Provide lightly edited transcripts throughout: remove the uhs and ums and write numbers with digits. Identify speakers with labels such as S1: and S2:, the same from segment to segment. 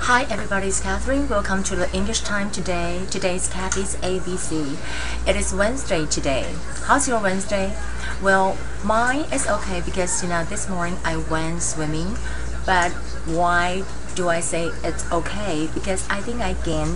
S1: Hi everybody, it's Catherine. Welcome to the English time today. Today's Kathy's ABC. It is Wednesday today. How's your Wednesday? Well, mine is okay because this morning I went swimming. But why do I say it's okay? Because I think I gained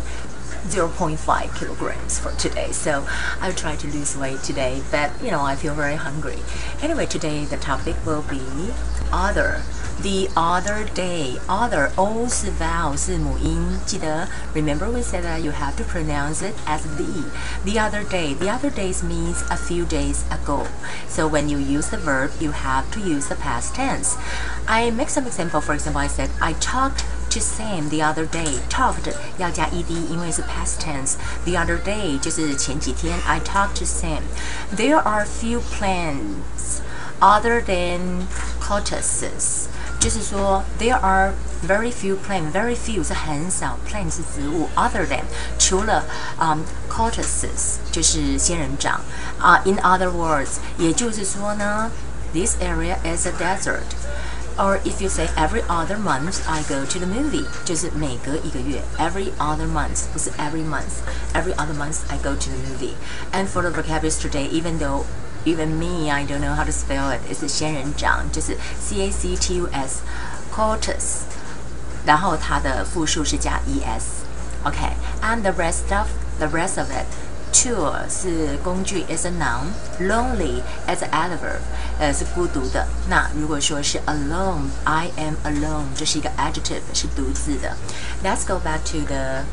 S1: 0.5 kilograms for today, so I'll try to lose weight today, but I feel very hungry. Anyway, today the topic will be other. The other day, other O 是 vowel 是母音，记得 remember we said that you have to pronounce it as the other day. The other days means a few days ago. So when you use the verb, you have to use the past tense. I make some example. For example, I said I talked to Sam the other day. Talked 要加 ed 因为是 past tense. The other day 就是前几天 I talked to Sam. There are few plants other than cactuses. 就是说 there are very few plants. Very few 是很少 plant 是植物 other than 除了cactuses 就是仙人掌in other words 也就是说呢 this area is a desert. Or if you say every other month I go to the movie 就是每隔一个月 every other month 不是 every month every other month I go to the movie. And for the vocabulary today, even me, I don't know how to spell it. It's 仙人掌，就是 cactus, cactus， 然后它的复数是加 es. Okay, and the rest of it. Tool 是工具 is a noun. Lonely is an adverb. 是孤独的。那如果说是 alone, I am alone， 这是一个 adjective， 是独自的。Let's go back to the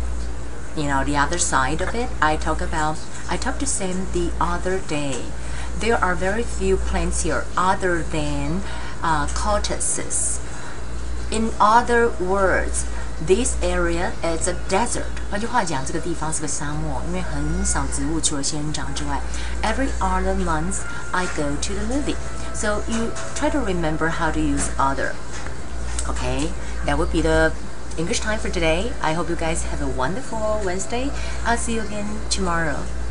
S1: the other side of it. I talked to Sam the other day. There are very few plants here other than cactuses. In other words, this area is a desert. 换句话讲，这个地方是个沙漠，因为很少植物，除了仙人掌之外。Every other month, I go to the movie. So you try to remember how to use other. Okay, that would be the English time for today. I hope you guys have a wonderful Wednesday. I'll see you again tomorrow.